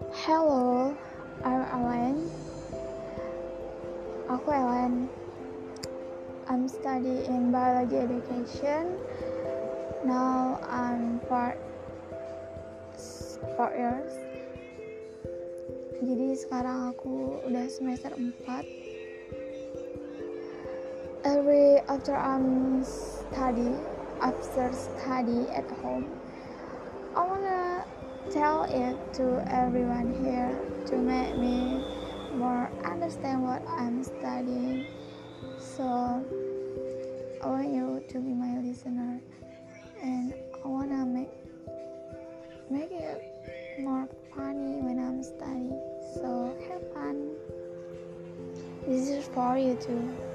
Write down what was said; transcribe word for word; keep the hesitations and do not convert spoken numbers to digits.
Hello, I'm Ellen. Aku Ellen. I'm studying biology education. Now I'm part four years. Jadi sekarang aku udah semester empat. Every after I'm study, after study at home, I wanna tell it to everyone here to make me more understand what I'm studying. So I want you to be my listener, and I wanna make make it more funny when I'm studying. So have fun. This is for you too.